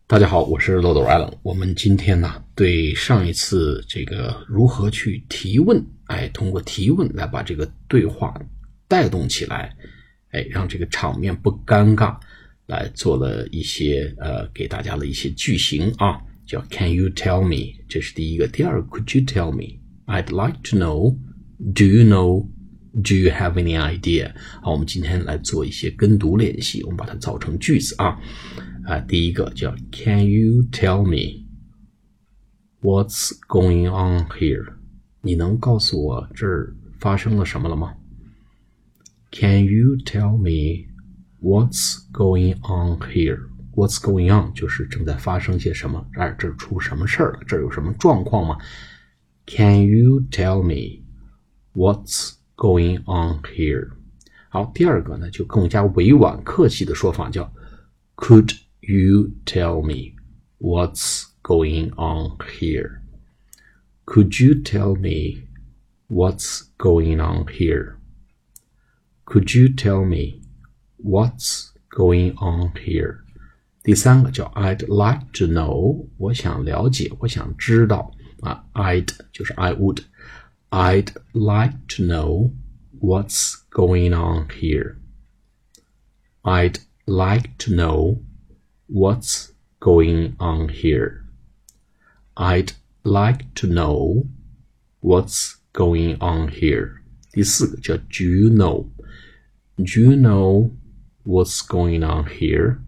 大家好，我是漏斗 Allen。我们今天呢，对上一次这个如何去提问，通过提问来把这个对话带动起来，让这个场面不尴尬，来做了一些给大家的一些句型啊，叫 Can you tell me？ 这是第一个。第二个 Could you tell me？ I'd like to know. Do you know? Do you have any idea？ 好，我们今天来做一些跟读练习，我们把它造成句子啊。第一个叫 Can you tell me what's going on here？ 你能告诉我这儿发生了什么了吗？ Can you tell me what's going on here？ What's going on 就是正在发生些什么，这儿出什么事儿了，这儿有什么状况吗？ Can you tell me what's going on here？ 好，第二个呢就更加委婉客气的说法叫 Could you tell me what's going on here? Could you tell me what's going on here? Could you tell me what's going on here? 第三个叫 I'd like to know， 我想了解，我想知道I'd 就是 I would I'd like to know what's going on here. I'd like to know what's going on here. I'd like to know what's going on here. 第四个叫 Do you know? Do you know what's going on here?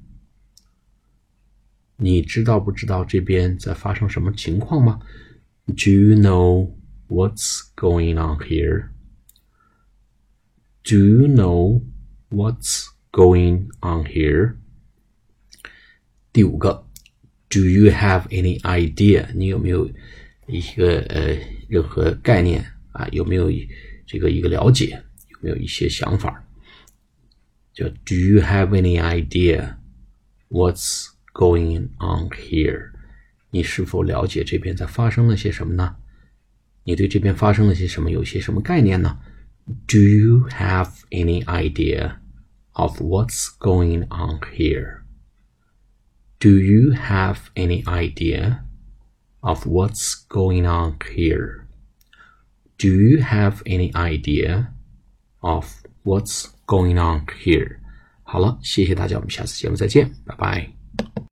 你知道不知道这边在发生什么情况吗？ Do you know what's going on here? Do you know what's going on here? 第五个 Do you have any idea？ 你有没有一个任何概念有没有这个一个了解，有没有一些想法？叫 Do you have any idea what's going on here？ 你是否了解这边在发生了些什么呢？你对这边发生了些什么有些什么概念呢？ Do you have any idea of what's going on here?Do you have any idea of what's going on here? Do you have any idea of what's going on here? 好了，谢谢大家，我们下次节目再见，拜拜。